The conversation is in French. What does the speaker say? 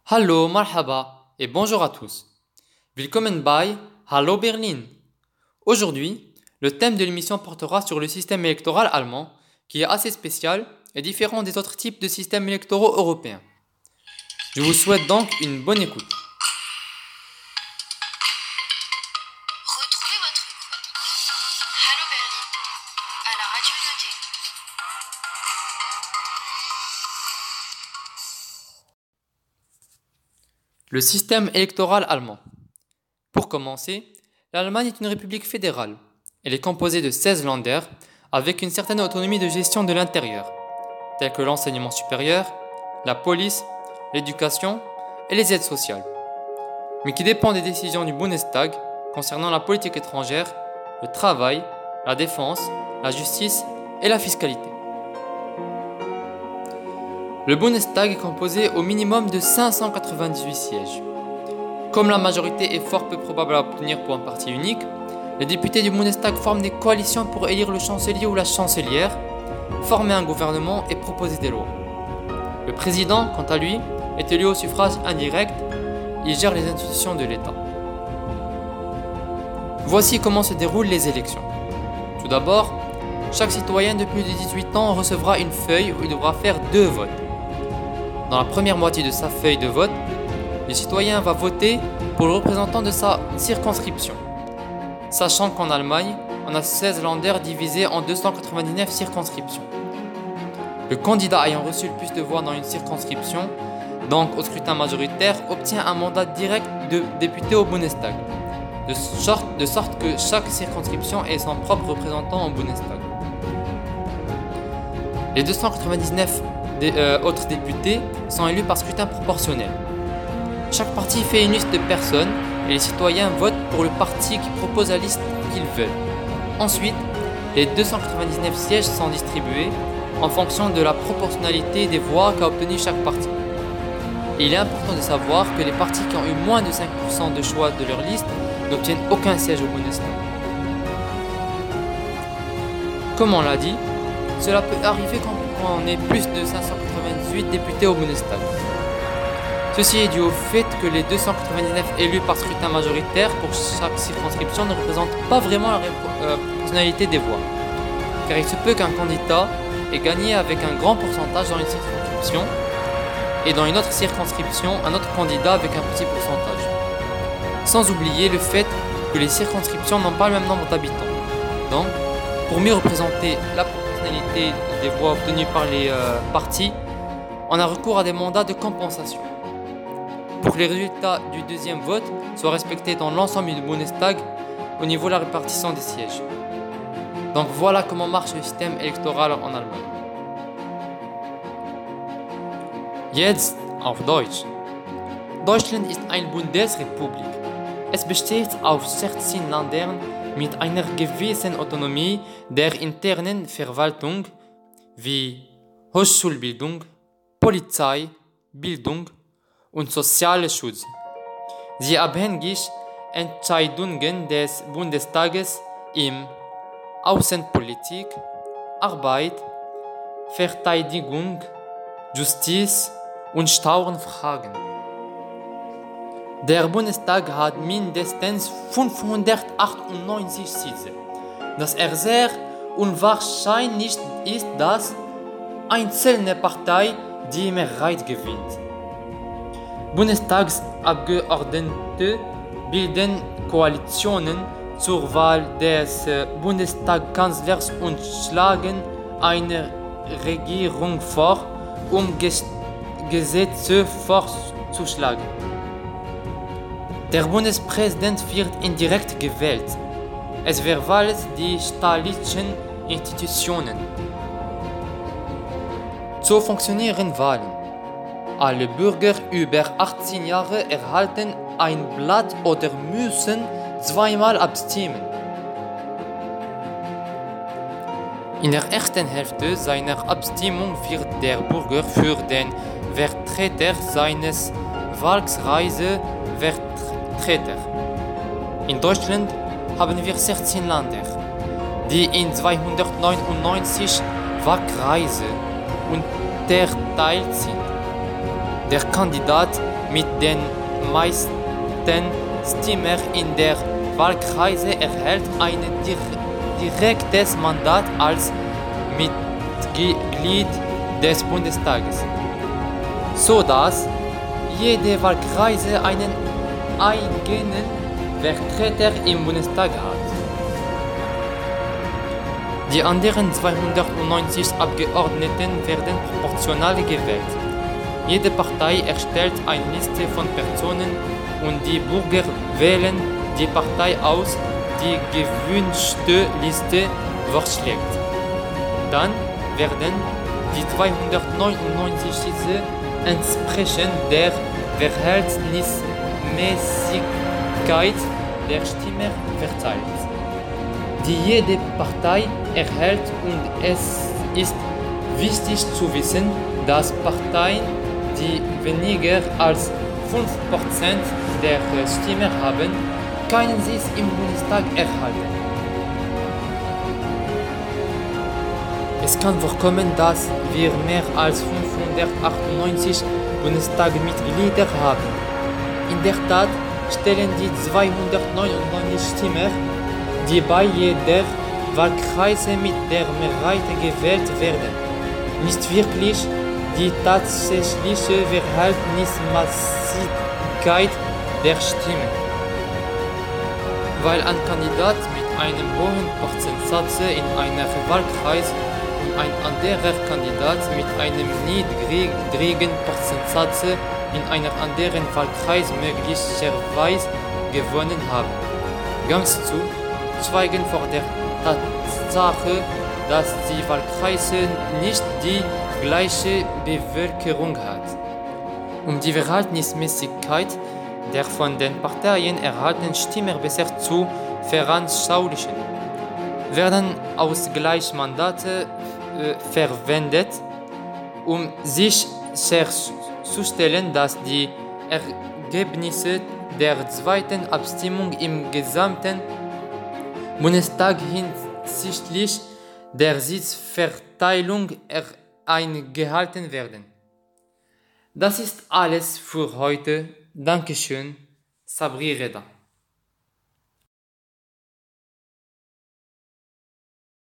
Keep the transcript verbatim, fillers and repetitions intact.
Hallo, marhaba et bonjour à tous. Willkommen bei Hallo Berlin. Aujourd'hui, le thème de l'émission portera sur le système électoral allemand, qui est assez spécial et différent des autres types de systèmes électoraux européens. Je vous souhaite donc une bonne écoute. Retrouvez votre chronique Hallo Berlin à la radio Nodé. Le système électoral allemand. Pour commencer, l'Allemagne est une république fédérale. Elle est composée de seize Länder avec une certaine autonomie de gestion de l'intérieur, tels que l'enseignement supérieur, la police, l'éducation et les aides sociales, mais qui dépend des décisions du Bundestag concernant la politique étrangère, le travail, la défense, la justice et la fiscalité. Le Bundestag est composé au minimum de cinq cent quatre-vingt-dix-huit sièges. Comme la majorité est fort peu probable à obtenir pour un parti unique, les députés du Bundestag forment des coalitions pour élire le chancelier ou la chancelière, former un gouvernement et proposer des lois. Le président, quant à lui, est élu au suffrage indirect. Il gère les institutions de l'État. Voici comment se déroulent les élections. Tout d'abord, chaque citoyen de plus de dix-huit ans recevra une feuille où il devra faire deux votes. Dans la première moitié de sa feuille de vote, le citoyen va voter pour le représentant de sa circonscription. Sachant qu'en Allemagne, on a seize Länder divisés en deux cent quatre-vingt-dix-neuf circonscriptions. Le candidat ayant reçu le plus de voix dans une circonscription, donc au scrutin majoritaire, obtient un mandat direct de député au Bundestag, de sorte, de sorte que chaque circonscription ait son propre représentant au Bundestag. Les deux cent quatre-vingt-dix-neuf des, euh, autres députés sont élus par scrutin proportionnel. Chaque parti fait une liste de personnes et les citoyens votent pour le parti qui propose la liste qu'ils veulent. Ensuite, les deux cent quatre-vingt-dix-neuf sièges sont distribués en fonction de la proportionnalité des voix qu'a obtenu chaque parti. Et il est important de savoir que les partis qui ont eu moins de cinq pour cent de choix de leur liste n'obtiennent aucun siège au Bundestag. Comme on l'a dit, cela peut arriver quand on est plus de cinq cent quatre-vingt-dix-huit députés au Bundestag. Ceci est dû au fait que les deux cent quatre-vingt-dix-neuf élus par scrutin majoritaire pour chaque circonscription ne représentent pas vraiment la euh, proportionnalité des voix. Car il se peut qu'un candidat ait gagné avec un grand pourcentage dans une circonscription et dans une autre circonscription un autre candidat avec un petit pourcentage. Sans oublier le fait que les circonscriptions n'ont pas le même nombre d'habitants. Donc, pour mieux représenter la proportionnalité des voix obtenues par les euh, partis, on a recours à des mandats de compensation. Pour que les résultats du deuxième vote soient respectés dans l'ensemble du Bundestag au niveau de la répartition des sièges. Donc voilà comment marche le système électoral en Allemagne. Jetzt auf Deutsch. Deutschland ist eine Bundesrepublik. Es besteht aus sechzehn Ländern mit einer gewissen Autonomie der internen Verwaltung wie Hochschulbildung, Polizei, Bildung und sozialer Schutz. Sie abhängig Entscheidungen des Bundestages im Außenpolitik, Arbeit, Verteidigung, Justiz und Steuerfragen. Der Bundestag hat mindestens fünfhundertachtundneunzig Sitze. Das er sehr unwahrscheinlich ist, dass eine einzelne Partei die Mehrheit gewinnt. Bundestagsabgeordnete bilden Koalitionen zur Wahl des Bundestagskanzlers und schlagen eine Regierung vor, um Gesetze vorzuschlagen. Der Bundespräsident wird indirekt gewählt. Es verwaltet die staatlichen Institutionen. So funktionieren Wahlen. Alle Bürger über achtzehn Jahre erhalten ein Blatt oder müssen zweimal abstimmen. In der ersten Hälfte seiner Abstimmung wird der Bürger für den Vertreter seines Wahlkreises Vertreter. In Deutschland haben wir sechzehn Länder, die in zweihundertneunundneunzig Wahlkreise unterteilt sind. Der Kandidat mit den meisten Stimmen in der Wahlkreise erhält ein direktes Mandat als Mitglied des Bundestages, sodass jede Wahlkreise einen eigenen Vertreter im Bundestag hat. Die anderen zweihundertneunzig Abgeordneten werden proportional gewählt. Jede Partei erstellt eine Liste von Personen und die Bürger wählen die Partei aus, die gewünschte Liste vorschlägt. Dann werden die zweihundertneunundneunzig Sitze entsprechend der Verhältnismäßigkeit der Stimmen verteilt, die jede Partei erhält, und es ist wichtig zu wissen, dass Parteien, die weniger als fünf Prozent der Stimmen haben, keinen Sitz im Bundestag erhalten. Es kann vorkommen, dass wir mehr als fünfhundertachtundneunzig Bundestagsmitglieder haben. In der Tat stellen die zweihundertneunundneunzig Stimmen, die bei jeder Wahlkreise mit der Mehrheit gewählt werden, nicht wirklich die tatsächliche Verhältnismäßigkeit der Stimmen. Weil ein Kandidat mit einem hohen Prozentsatz in einem Wahlkreis und ein anderer Kandidat mit einem niedrigen Prozentsatz in einem anderen Wahlkreis möglicherweise gewonnen haben. Ganz zu schweigen vor der Tatsache, dass die Wahlkreise nicht die gleiche Bevölkerung hat. Um die Verhältnismäßigkeit der von den Parteien erhaltenen Stimmen besser zu veranschaulichen, werden Ausgleichsmandate äh, verwendet, um sicherzustellen, dass die Ergebnisse der zweiten Abstimmung im gesamten Bundestag hinsichtlich der Sitzverteilung eingehalten werden. Das ist alles für heute. Dankeschön, Sabri Reda.